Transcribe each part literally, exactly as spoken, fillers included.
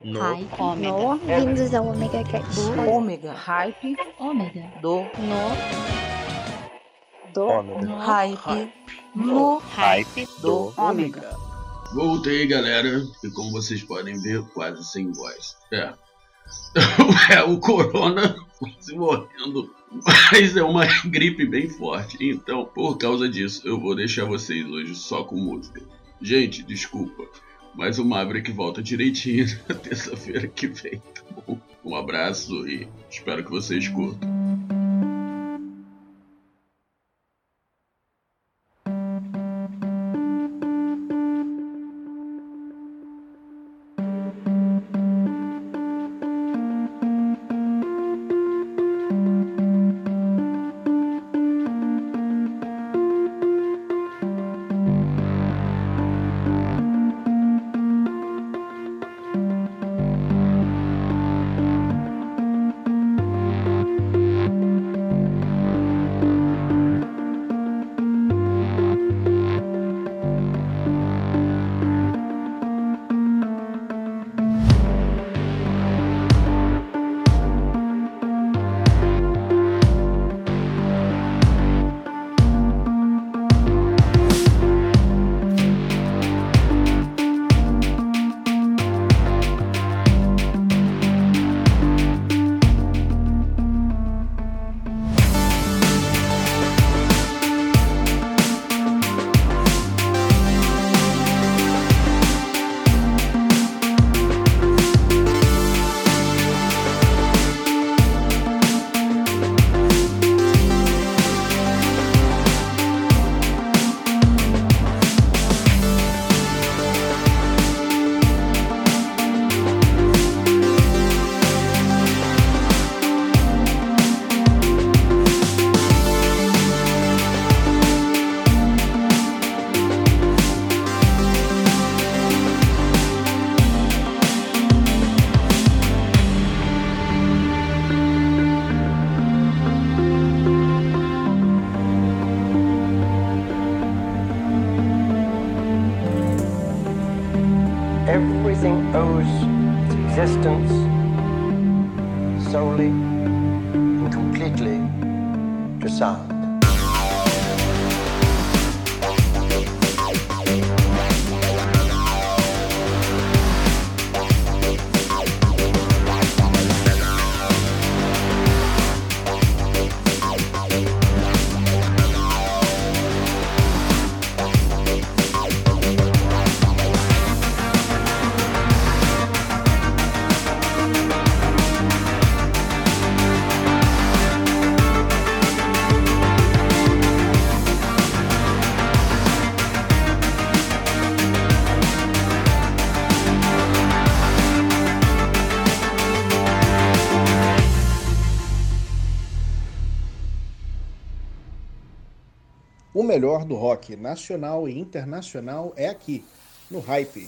No. Hype. No. Bem-vindos ao Omega Cast. Do ômega. Hype. Ômega. Do. No. Do. Ômega. No. Hype. No. Hype. Do ômega. Voltei, galera. E como vocês podem ver, quase sem voz. É. É o corona se morrendo. Mas é uma gripe bem forte. Então, por causa disso, eu vou deixar vocês hoje só com música. Gente, desculpa. Mas o Maverick volta direitinho na terça-feira que vem, tá bom? Um abraço e espero que vocês curtam. Everything owes its existence solely and completely to sound. O melhor do rock nacional e internacional é aqui, no Hype.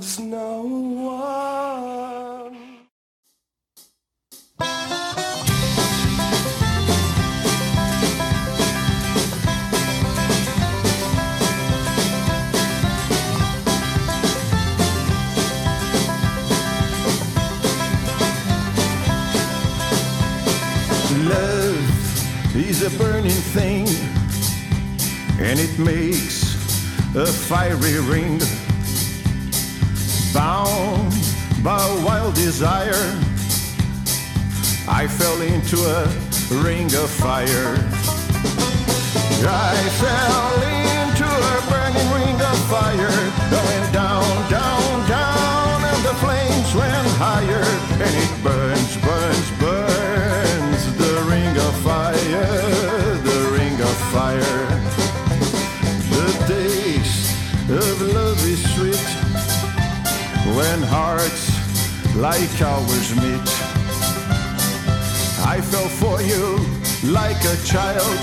loves no one. Love is a burning thing, and it makes a fiery ring. Bound by wild desire, I fell into a ring of fire. I fell into a burning ring of fire. I went down, down, down, and the flames went higher. And it burns, burns, burns, the ring of fire, the ring of fire. The taste of love is sweet when hearts like ours meet. I fell for you like a child.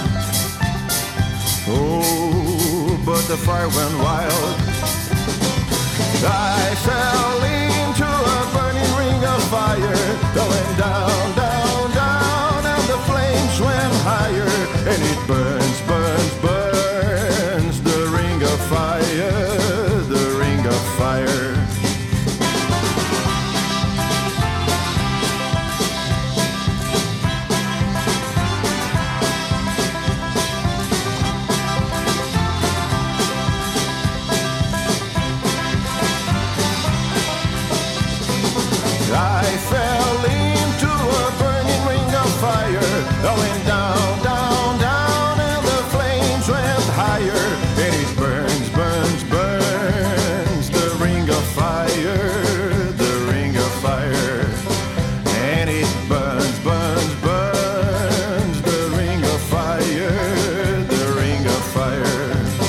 Oh, but the fire went wild. I fell into a burning ring of fire. Going down, down, down, and the flames went higher. And it burns, burns, burns, the ring of fire, the ring of fire. I fell into a burning ring of fire. I went down, down, down, and the flames went higher. And it burns, burns, burns, the ring of fire, the ring of fire. And it burns, burns, burns, the ring of fire, the ring of fire.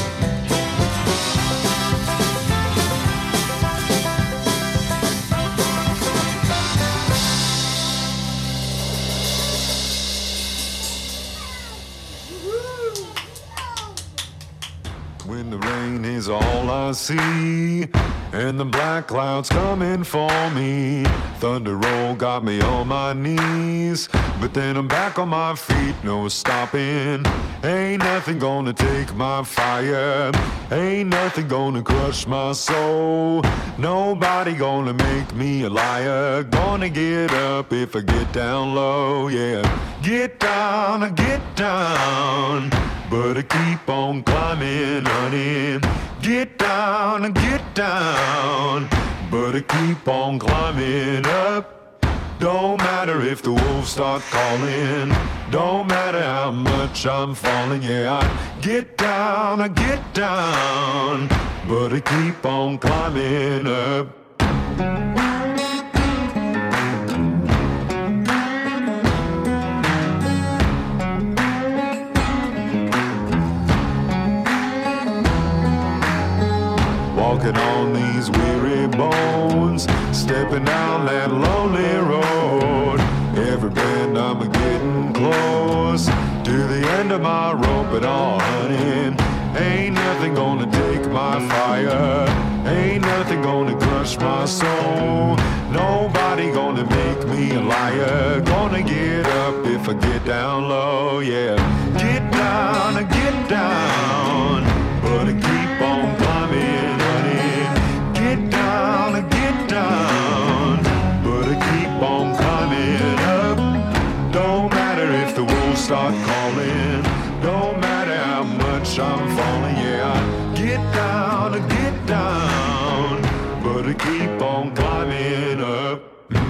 When the rain is all I see, and the black clouds coming for me, thunder roll got me on my knees, but then I'm back on my feet, no stopping. Ain't nothing gonna take my fire, ain't nothing gonna crush my soul, nobody gonna make me a liar. Gonna get up if I get down low, yeah. Get down, get down, but I keep on climbing, honey. Get down, get down, but I keep on climbing up. Don't matter if the wolves start calling, don't matter how much I'm falling, yeah. I get down, I get down, but I keep on climbing up. Walking on these weary bones, stepping down that lonely road. Every bend I'm getting close to the end of my rope at all, honey. Ain't nothing gonna take my fire, ain't nothing gonna crush my soul, nobody gonna make me a liar. Gonna get up if I get down low, yeah. Get down, get down, but I keep on climbing, honey. Get down, get down, but I keep on climbing up. Don't matter if the wolves start calling, don't matter how much I'm falling, yeah. I get down, get down, but I keep on climbing up.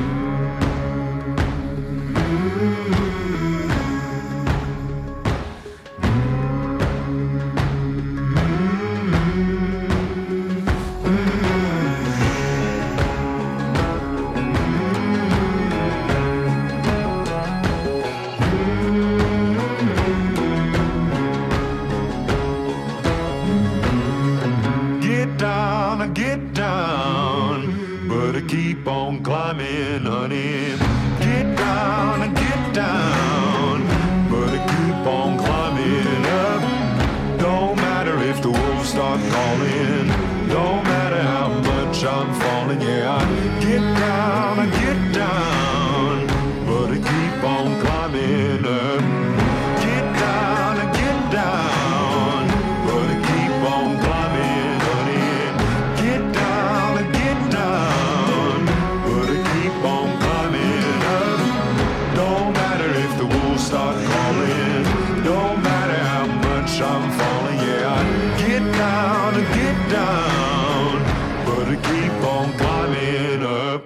Get down, but I keep on climbing, honey. Get down, get down, but I keep on climbing up. Don't matter if the wolves start calling, don't matter how much much I'm falling. Yeah, I get down, I get down, but I keep on climbing up. Get down, I get down, but I keep on climbing, honey. Get down, I get down, but I keep on climbing up. Don't matter if the wolves start calling, don't matter how much I'm falling. Yeah, I get down, I get down, but I keep on climbing up.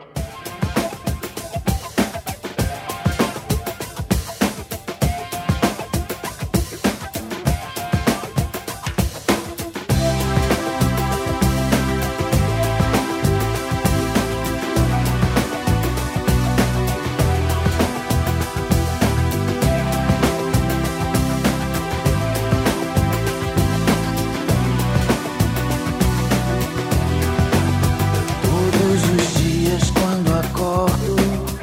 Todos os dias quando acordo,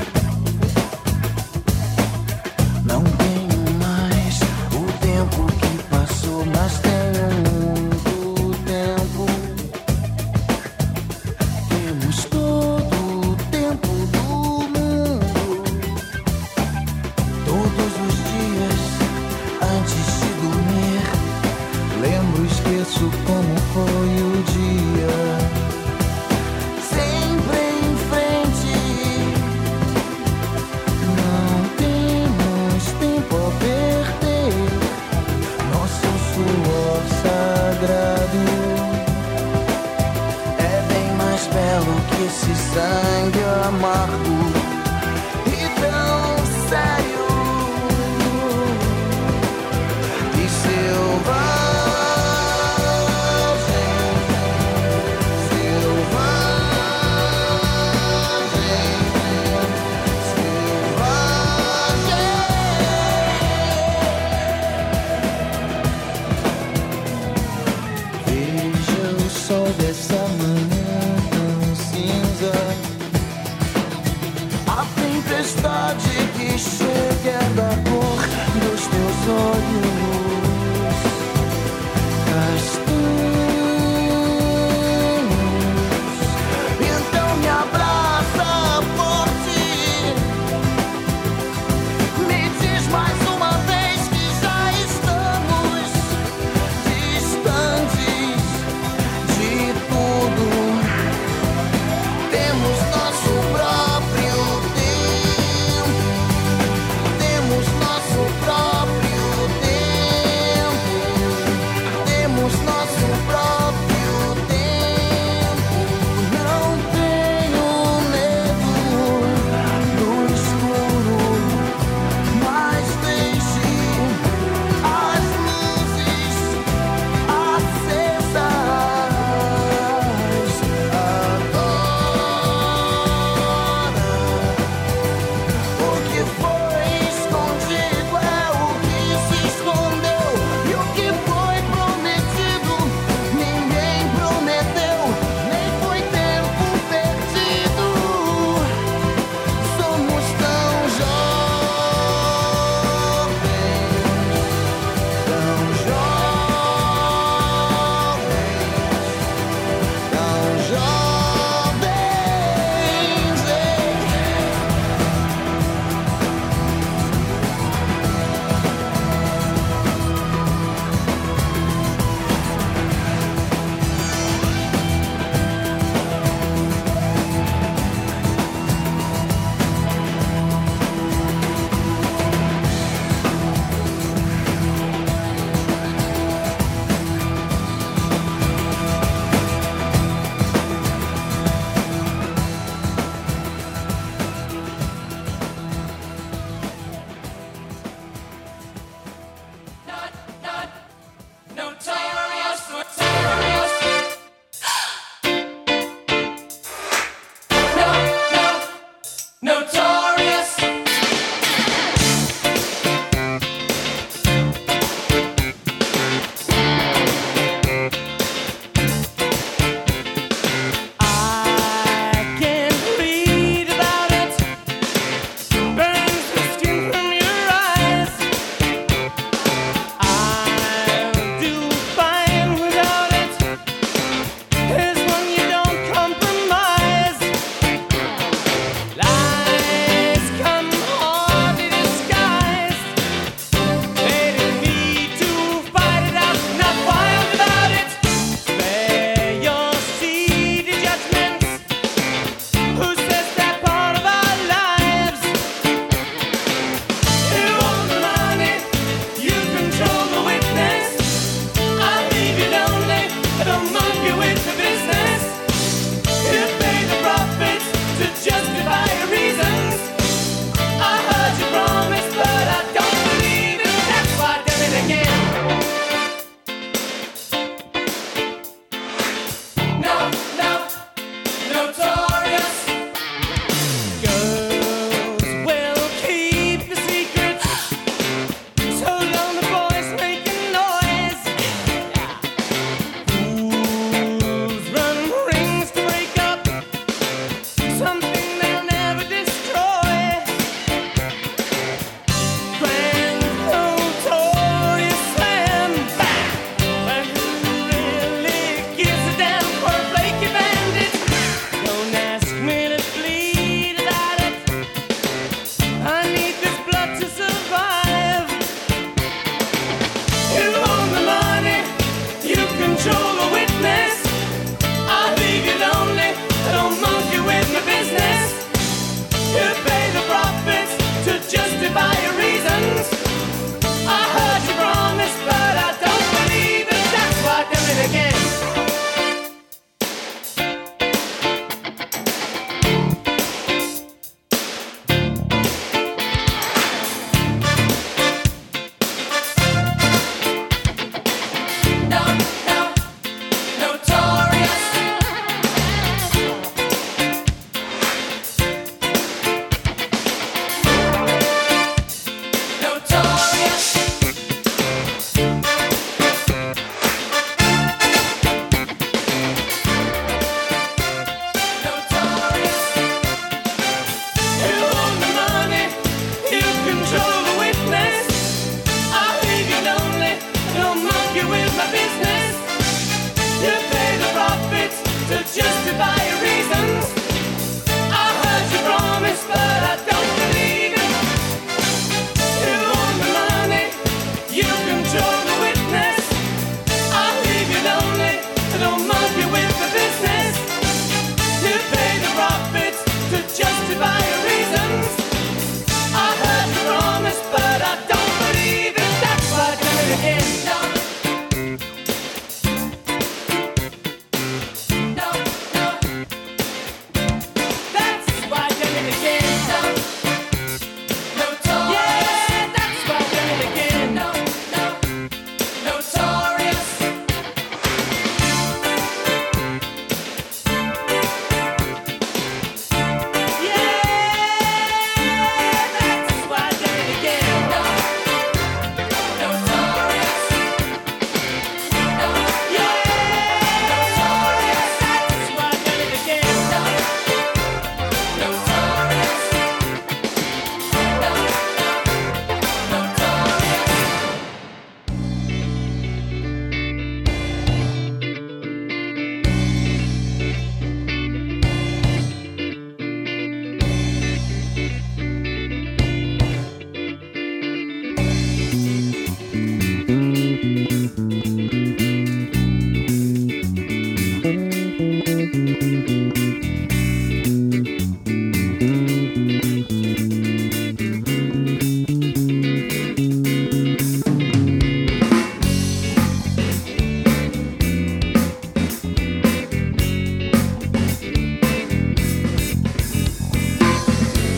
não tenho mais o tempo que passou, mas tenho muito tempo. Temos todo o tempo do mundo. Todos os dias antes de dormir, lembro, esqueço como foi o dia. Sempre em frente, não temos tempo a perder. Nosso suor sagrado é bem mais belo que esse sangue amargo e tão sério e selvagem. Veja o sol dessa manhã tão cinza, a tempestade que chega da cor dos teus olhos castanhos. Então me abraça forte, me diz mais uma vez que já estamos distantes de tudo. Temos nosso próprio tempo, temos nosso próprio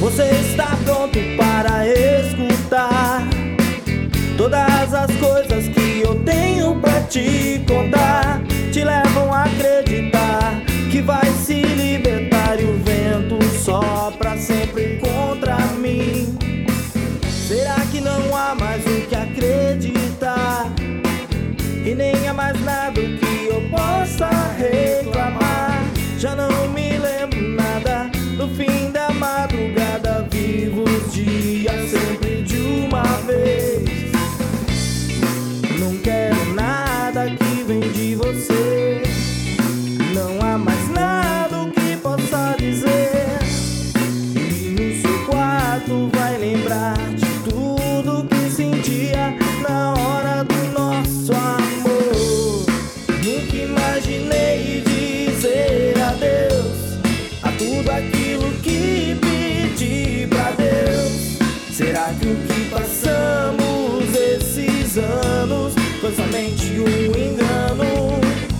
Você está pronto para escutar todas as coisas que eu tenho pra te contar. Te levam a acreditar que vai se libertar e o vento sopra sempre contra mim. Será que não há mais o que acreditar? E nem há mais nada que eu possa reclamar. Já não me lembro nada no fim da madrugada. Vivo os dias sempre de uma vez. Não quero nada que vem de você. Não há mais nada o que possa dizer. E no seu quarto vai lembrar de tudo que sentia na hora do nosso amor. Nunca imaginei dizer adeus a tudo aquilo que pedi pra Deus. Será que o que passamos esses anos foi somente um engano?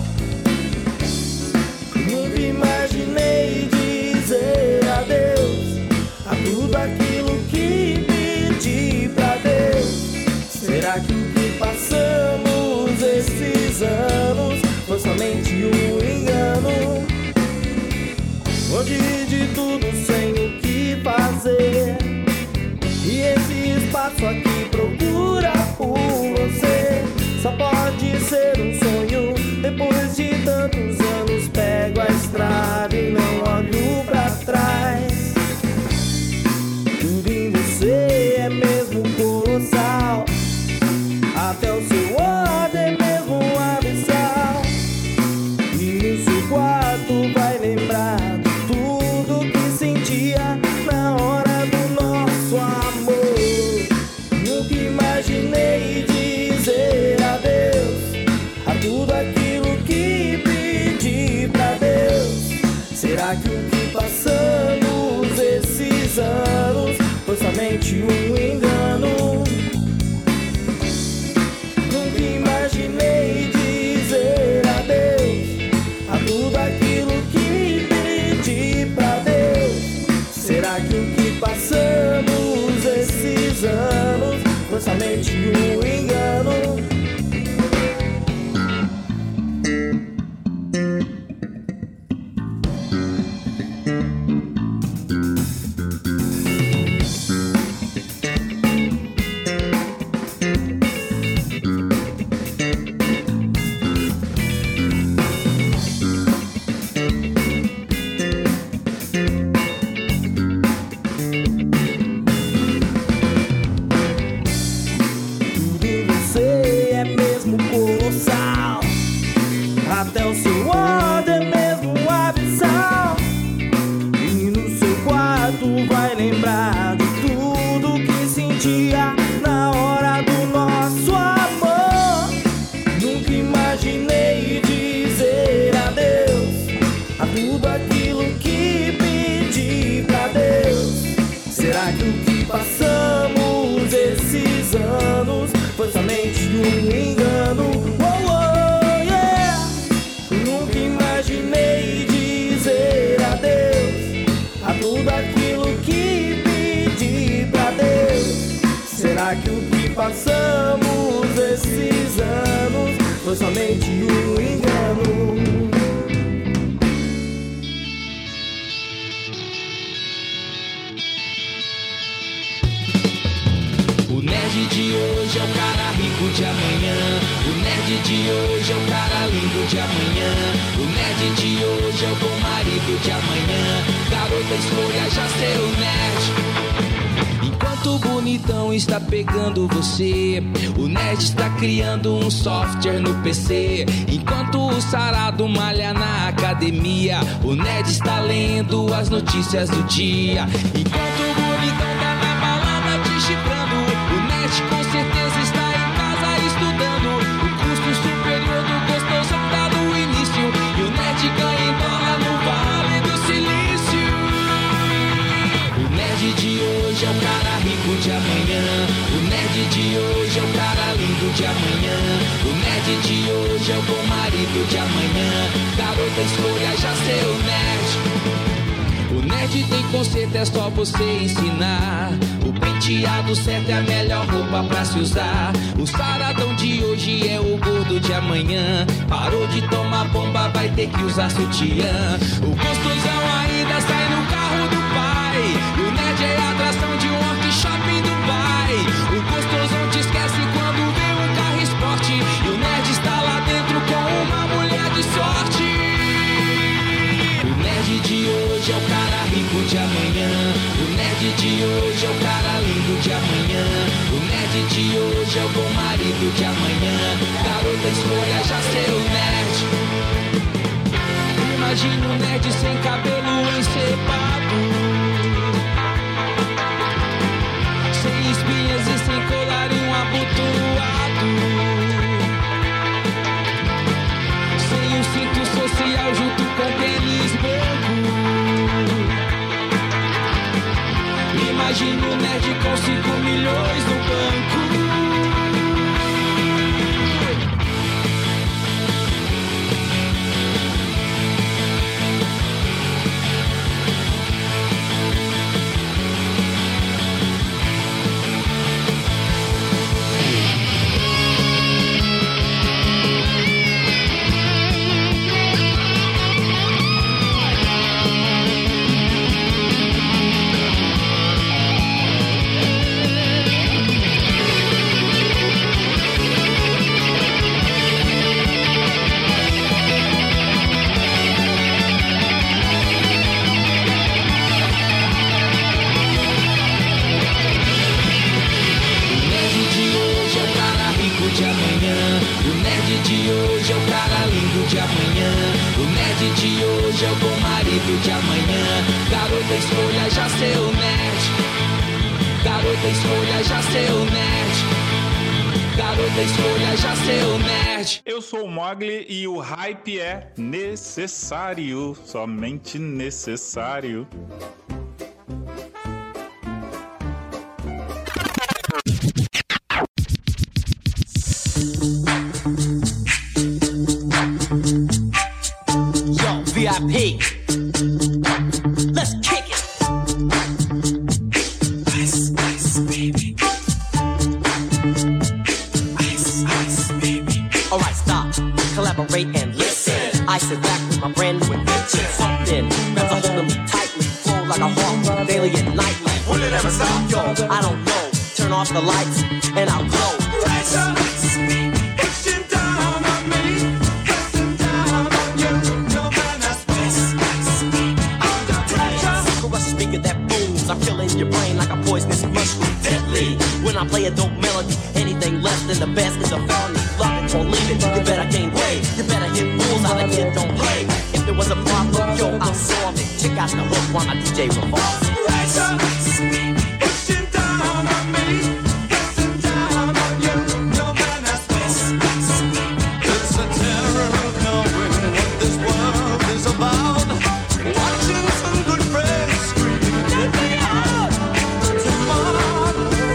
Nunca imaginei dizer adeus a tudo aquilo que pedi pra Deus. Será que o que passamos esses anos foi somente um engano? Hoje de tudo sem o que fazer, e esse espaço aqui procura por você. Só pode ser um sonho. Depois de tantos anos pego a estrada e não olho pra trás. Tudo em você é mesmo colossal, até o seu ódio é mesmo abissal. E no seu quarto vai lembrar de tudo que sentia na hora do nosso amor. Nunca imaginei dizer adeus a tudo aquilo que pedi pra Deus. Será que o que passamos esses anos foi somente um engano? Nunca imaginei dizer adeus a tudo aquilo que pedi pra Deus. Será que o que passamos esses anos foi somente um engano? Até o seu ódio é mesmo abissal. E no seu quarto vai lembrar de tudo que sentia na hora do nosso amor. Nunca imaginei dizer adeus a tudo aquilo que pedi pra Deus. Será que o que passamos esses anos foi somente um engano? Imaginei dizer adeus a tudo aquilo que pedi pra Deus. Será que o que passamos esses anos foi somente um engano? O nerd de hoje é o cara rico de amanhã. O nerd de hoje é o cara lindo de amanhã. O nerd de hoje é o bom marido de amanhã. Garota, escolha já ser o nerd. Enquanto o bonitão está pegando você, o nerd está criando um software no P C. Enquanto o sarado malha na academia, o nerd está lendo as notícias do dia. Enquanto o bonitão tá na balada te chifrando, o nerd com certeza está em casa estudando. O curso superior do gostoso tá no início, e o nerd ganha em dólar no Vale do Silício. O nerd de hoje é o cara rico de amanhã. O nerd de hoje é o cara lindo de amanhã. O nerd de hoje é o bom marido de amanhã. Garota, escolha já ser o nerd. O nerd nerd tem conceito, é só você ensinar. O penteado certo é a melhor roupa pra se usar. O saradão de hoje é o gordo de amanhã. Parou de tomar bomba, vai ter que usar sutiã. O gostosão ainda sai no carro do pai. E o nerd é a atração de um workshop em Dubai. O gostosão te esquece quando vê um carro esporte. E o nerd está lá dentro com uma mulher de sorte. O nerd de hoje é o cara rico de amanhã. O nerd de hoje é o cara lindo de amanhã. O nerd de hoje é o bom marido de amanhã. Garota, escolha já ser o nerd. Imagina um nerd sem cabelo encebado, sem espinhas e sem colarinho abotoado, sem o cinto social junto com tênis branco. Imagina um nerd com cinco milhões no banco. De amanhã, garota, escolha já ser o nerd. Garota, escolha já ser o nerd. Garota, escolha já ser o nerd. Eu sou o Mogli e o hype é necessário, somente necessário. Yo, V I P. Let's kick it. Ice, ice, baby. Ice, ice, baby. Alright, stop, collaborate and listen. I sit back with my brand new invention. Something grabs a hold of me tightly, flow like a hawk, daily and nightly. Will it ever stop? Yo, I don't know. Turn off the lights and I'll glow. Ice, ice, baby. Action down on me. Pressing down on you. No man has ice, ice, baby. Speaker that booms, I'm killing your brain like a poisonous mushroom. Deadly. When I play a dope melody, anything less than the best is a felony. Love it or leave it, you better gain weight. You better hit rules, how the kid don't play. If there was a problem, yo, I'll solve it. Check out the hook while my D J revolves it. Rise up, pushing down on me, pressing down on you. No man has this. It's a terror of knowing what this world is about. Watching some good friends screaming, let me out tomorrow.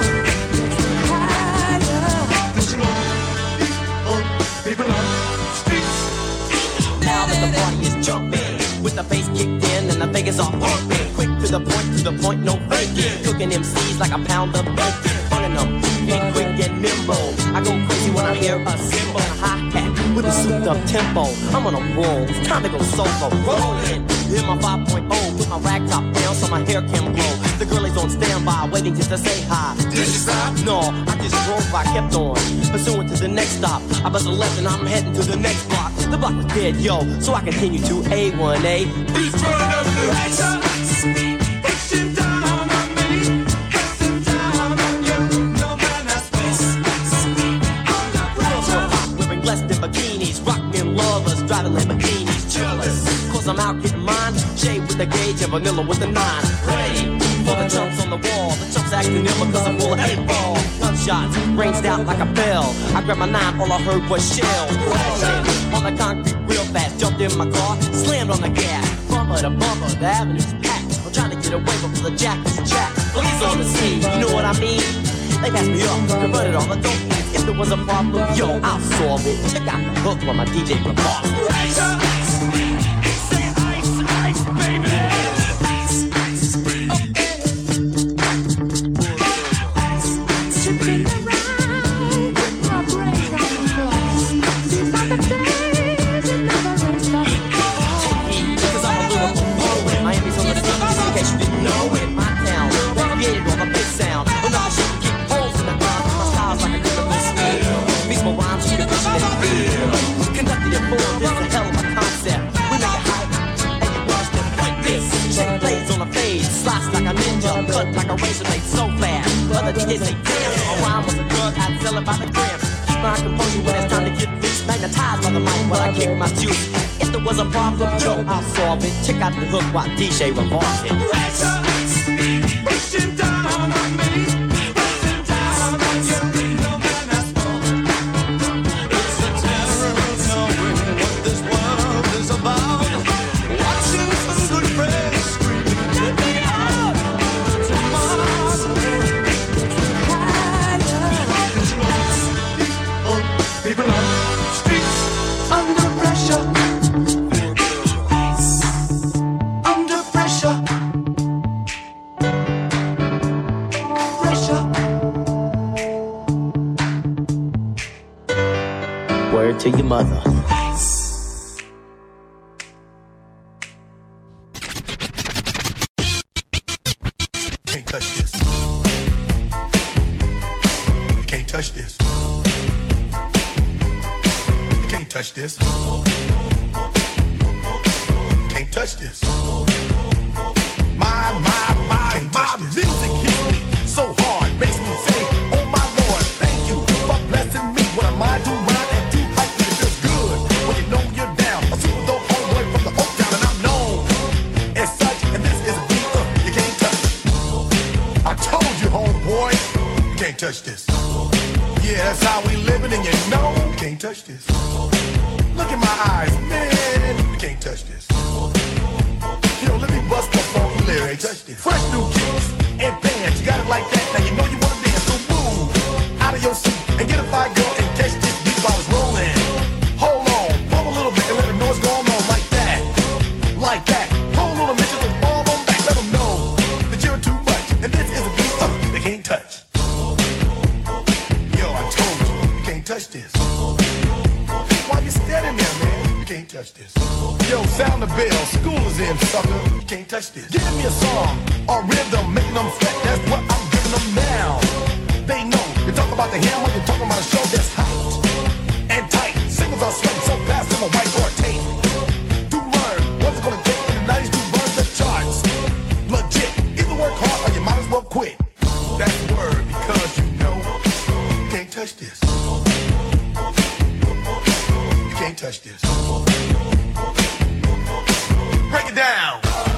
This love, people on the streets. Now that the party is jumping, with the bass kicked in and the Vegas all pumping. Quick to the point, to the point, no faking. Cooking M Cs like a pound of bacon. Running them, being quick and nimble. I go crazy when I hear a cymbal and a hi-hat with a souped up tempo. I'm on a roll, it's time to go solo. Rolling. Hit my five point oh, put my rag top down so my hair can blow. The girl is on standby, waiting just to say hi. Did you stop? No, I just drove, I kept on, pursuing to the next stop. I bust a left and I'm heading to the next block. The block was dead, yo, so I continue to A one A. Beats burn up the lights. Pushing down on me, pressing down on you. No man has space. On the pressure. Wearing less than bikinis, rockin' lovers, driving Lamborghinis. Jealous, cause I'm out getting mine. Shade with the gauge and vanilla with the nine. Ready for the chumps on the wall. The chumps acting ill because I'm full of eight ball. Gunshots ranged out like a bell. I grabbed my nine, all I heard was shells. Crashing on the concrete real fast. Jumped in my car, slammed on the gas. Bumper to bumper, the avenue's packed. I'm trying to get away before the jack is jacked. Police on the scene, you know what I mean? They passed me up, converted all the dope fiends. If there was a problem, yo, I'll solve it. Check out the hook while my D J performs. Ice, ice, say ice, ice, baby. Ice, ice. Chick plays on a fade, slice like a ninja, cut like a razor blade so fast. Other D Js say, damn, a rhyme was a drug, I'd sell it by the gram. Keep my composure when it's time to get loose. Magnetized by the mic while I kick my juice. If there was a problem, yo, I'll solve it. Check out the hook while D J revolves it. Pushing down on me, pushing down on you. No man has fallen. It's the terror of knowing what this world is about. Watching some good friends screaming, let me out. Tomorrow, people on the streets under pressure. Under pressure. Pressure. Word to your mother. Can't touch this. Can't touch this. Can't touch this. Can't touch this. My, my, my, my music hits me so hard, makes me say, oh my Lord, thank you for blessing me. What am I doing right and deep like it feels good when you know you're down. A super dope homeboy from the Oak Town and I'm known as such, and this is a beat uh, you can't touch. I told you, homeboy, you can't touch this. Yeah, that's how we living, and you know you can't touch this. Look in my eyes, man, you can't touch this. Yo, let me bust the funky lyrics. Fresh new kicks and bands, you got it like that. Now you know you wanna dance, so move out of your seat and get a fire girl and catch this beat while it's rolling. Hold on, pump a little bit and let them know what's going on like that, like that. Hold on a minute, just fall on back, let them know that you're too much, and this is a beat uh, they can't touch. Yo, I told you, you can't touch this. Why you standing there, man? You can't touch this. Yo, sound the bell, school is in, sucker. You can't touch this. Give me a song or rhythm, making them sweat. That's what I'm giving them now. They know. You talk about the hammer, you're talking about a show that's hot and tight. Singles are sweating so fast, I'm a whiteboard tape. To learn what's it gonna take in the nineties to burn the charts. Legit. Either work hard or you might as well quit. That's the word because you know you can't touch this. You can't touch this. Break it down.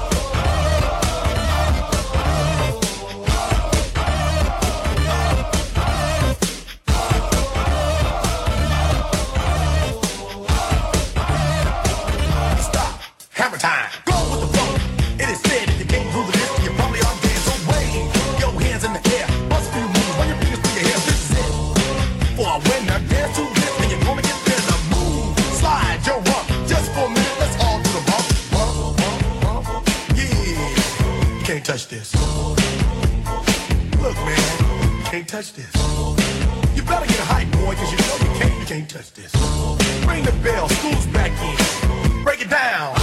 Stop. Hammer time. Go with the flow. It is said if you can't do the list, you probably are dead. So wave your hands in the air. Bust a few moves. Run your fingers through your hair. This is it. For a winner, dance to this, and you're gonna get there to move. Slide your rump. Just for a minute, let's all do the bump. Bump, bump, bump. Yeah. You can't touch this. Look, man. You can't touch this. You better get a hype, boy, cause you know you can't, you can't touch this. Ring the bell, school's back in. Break it down.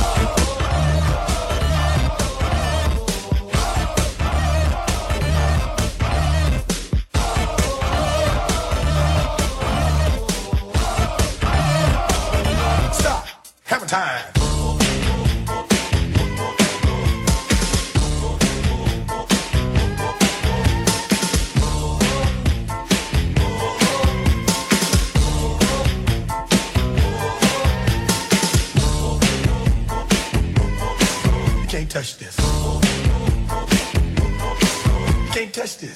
Stop. Hammer time. You can't touch this. You can't touch this.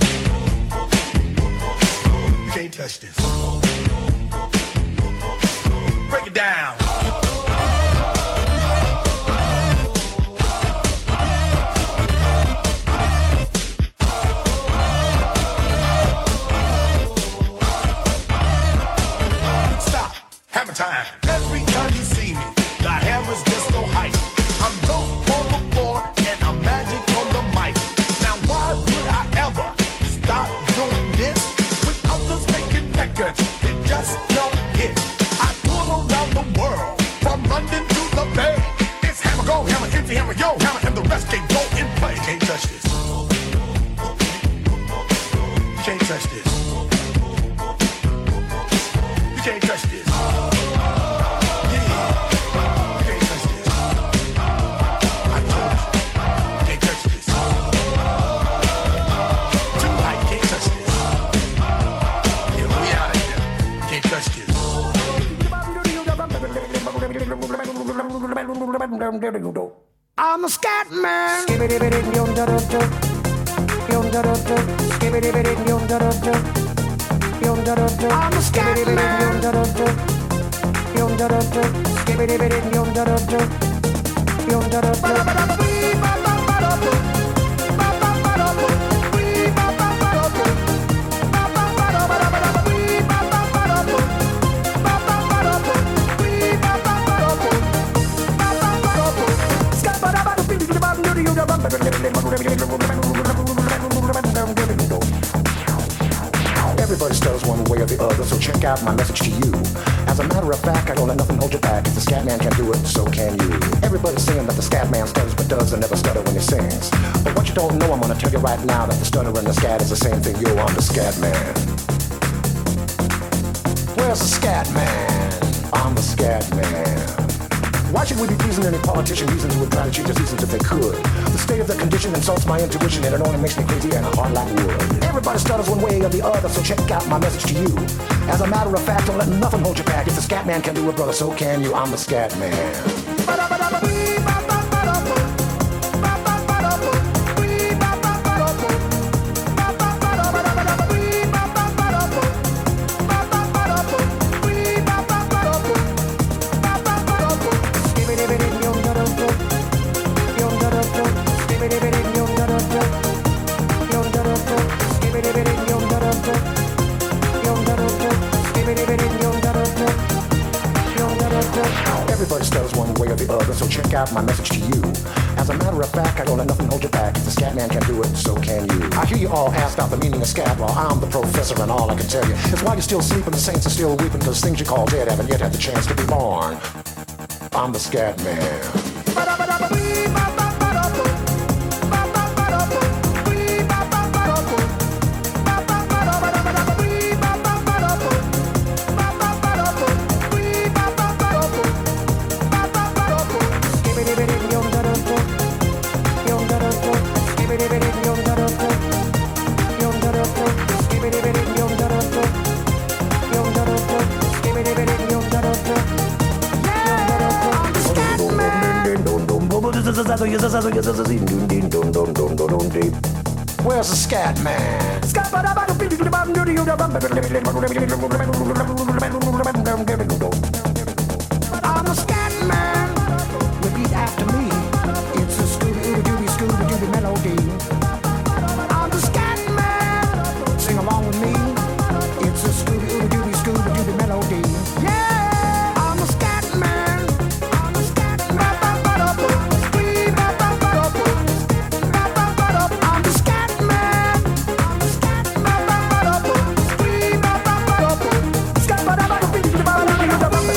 You can't touch this. Break it down. Stop. Hammer time. Every time you see me, the hammer's just so hype. I'm dope on the floor and I'm magic on the mic. Now why would I ever stop doing this without us making records? It just don't hit. I tour around the world from London to the Bay. It's hammer go, hammer empty, hammer yo, hammer, and the rest can go in play. You can't touch this. You can't touch this. You can't touch this. Yeah. You can't touch this. I told you. I'm a scat man. I'm a scat Everybody stutters one way or the other, so check out my message to you. As a matter of fact, I don't let nothing hold you back. If the scat man can do it, so can you. Everybody's saying that the scat man stutters but does and never stutter when he sings. But what you don't know, I'm gonna tell you right now, that the stutter and the scat is the same thing. Yo, I'm the scat man. Where's the scat man? I'm the scat man. Why should we be pleasing any politician reasons who would try to change the seasons if they could? The state of the condition insults my intuition, and it only makes me crazy and a heart like wood. Everybody stutters one way or the other, so check out my message to you. As a matter of fact, don't let nothing hold you back. If the scat man can do it, brother, so can you. I'm the scat man. Everybody stutters one way or the other, so check out my message to you. As a matter of fact, I don't let nothing hold you back. If the scat man can do it, so can you. I hear you all ask out the meaning of scat. Well, I'm the professor, and all I can tell you is while you're still sleeping, the saints are still weeping, because things you call dead haven't yet had the chance to be born. I'm the scat man. Where's the scat man? I'm a scat man. Repeat after me. It's a Scooby-Dooby, Scooby-Dooby melody. I'm the scat man. Sing along with me. It's a Scooby-Dooby, Scooby-Dooby melody. Yeah, I'm a scat man. I'm a scat man. I'm the scat man. I'm the scat man.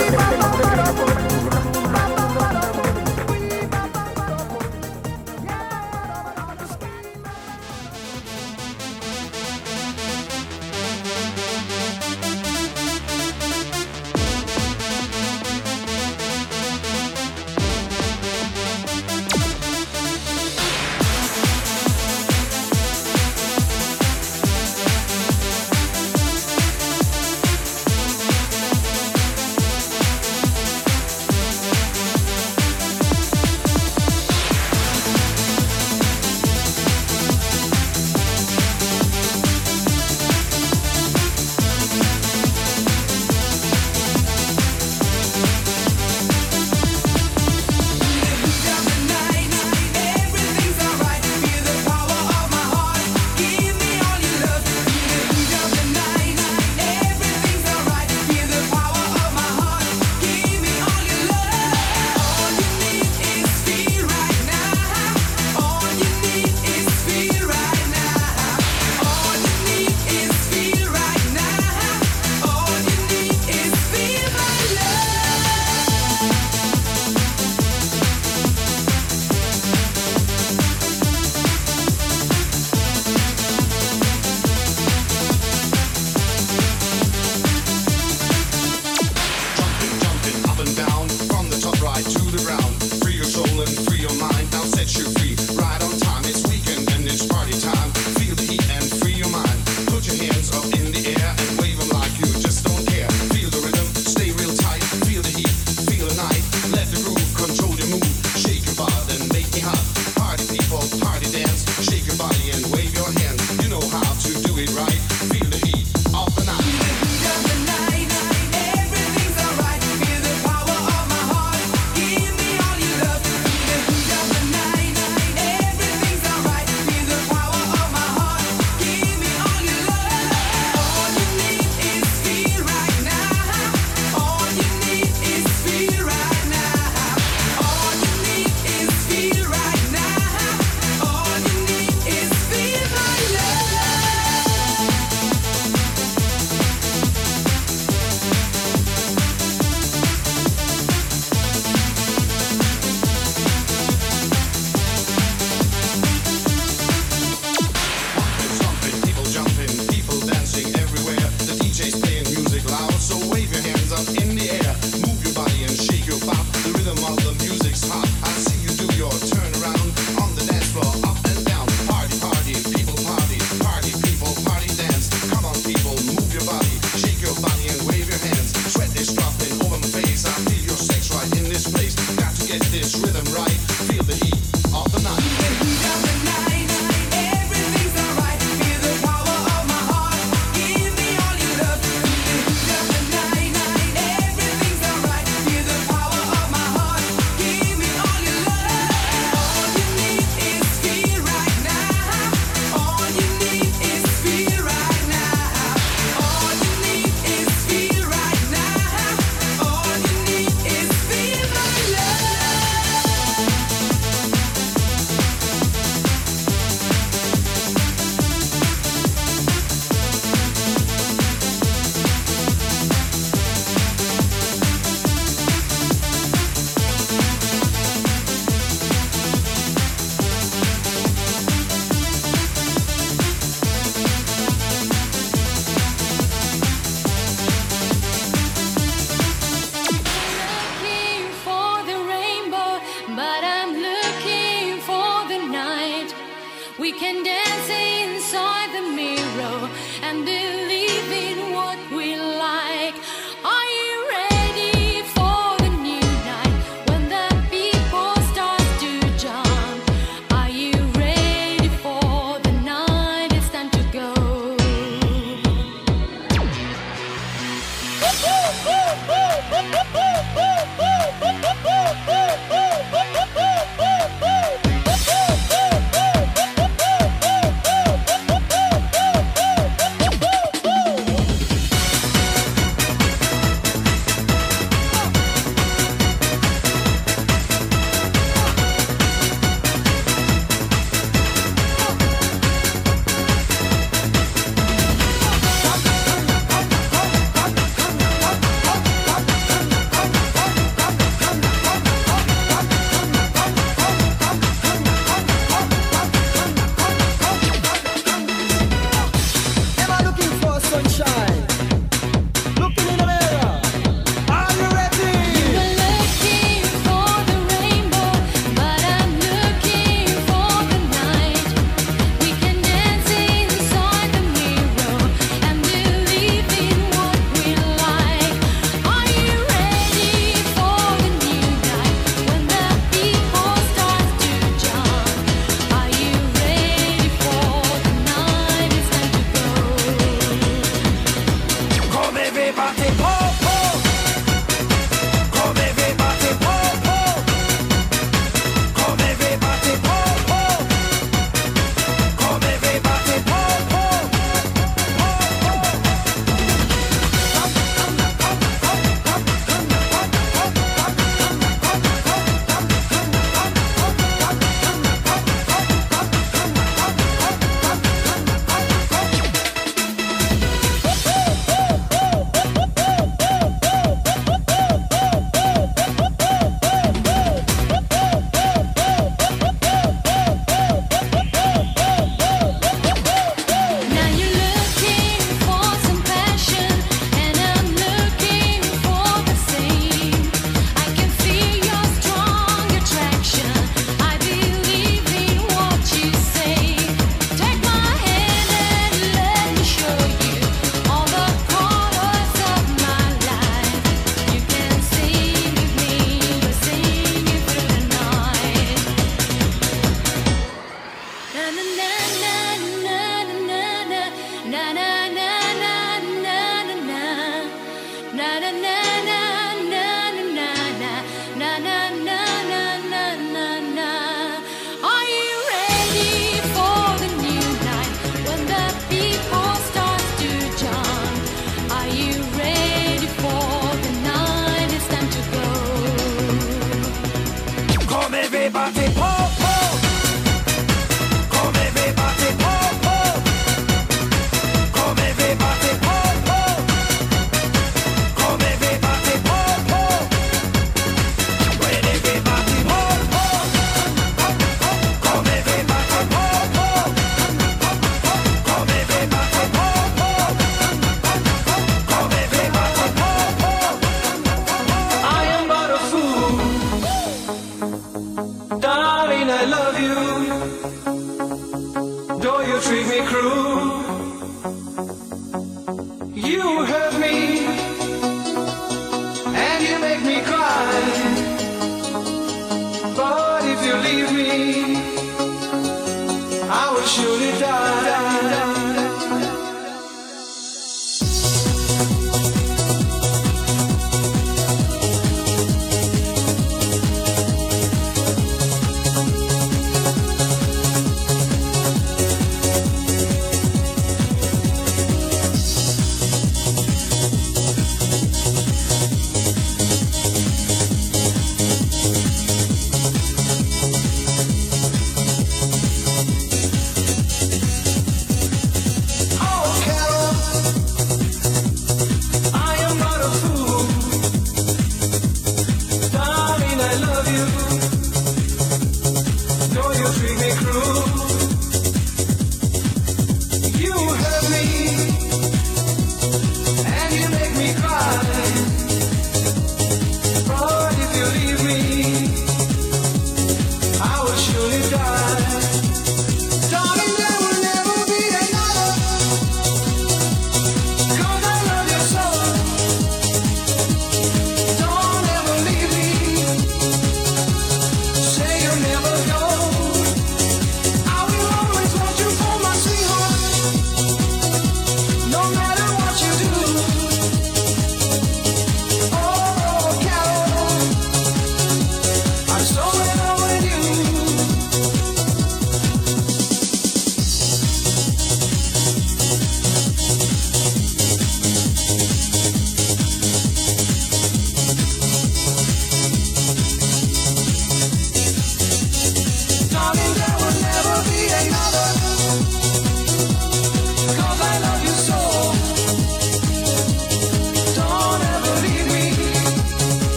We can dance inside the mirror and believe in what we like. Are you ready for the new night when the people start to jump? Are you ready for the night? It's time to go.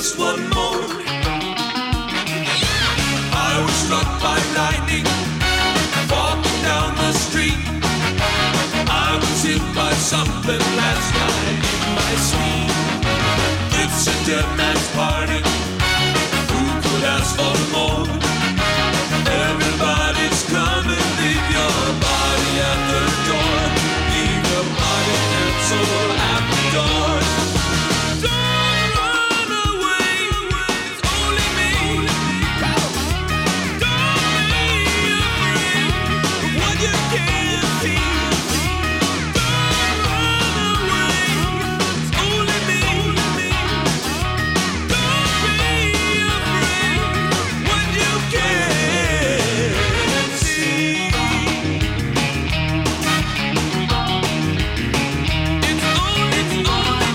just one more. I was struck by lightning, walking down the street. I was hit by something last night in my sleep. It's a dead man's party. Who could ask for more? Everybody's coming. Leave your body at the door. Leave your body and soul at the door. Don't run away. It's only me. Don't be afraid of what you can't see. Don't run away. It's only me. Don't be afraid of what you can't see. It's only, it's only.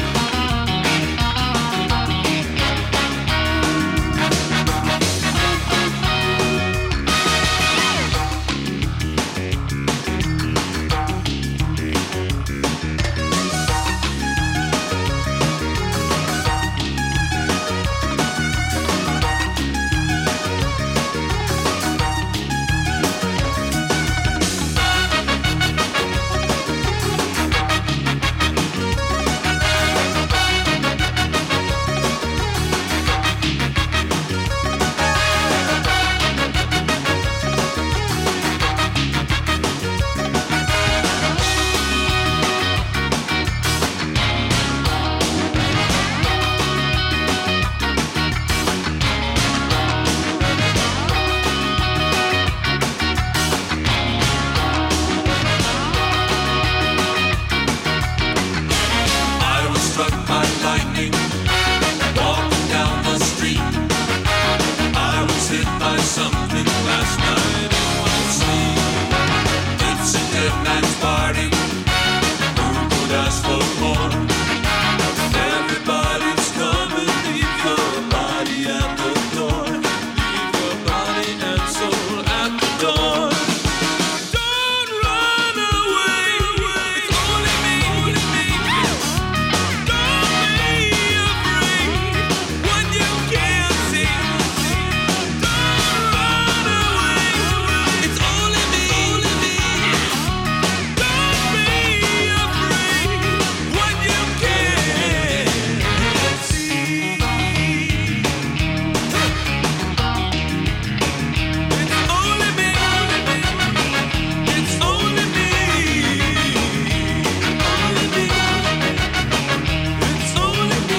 I was struck by lightning, walking down the street. I was hit by something last night in my sleep. It's a dead man's party. Who could ask for more? Everybody's coming. Leave your body at the door. Leave your body and soul at the door. Don't run away. It's only me. Don't be afraid what you can't see. Don't run away. It's only me. Don't be afraid what you can't see. It's only me. It's only me. Only me. It's only me.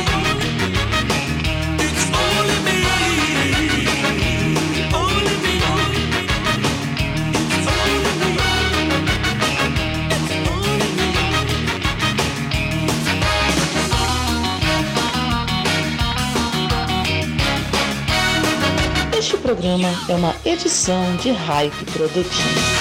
It's only me. Only me. It's only me. Este programa é uma edição de Hype Produções.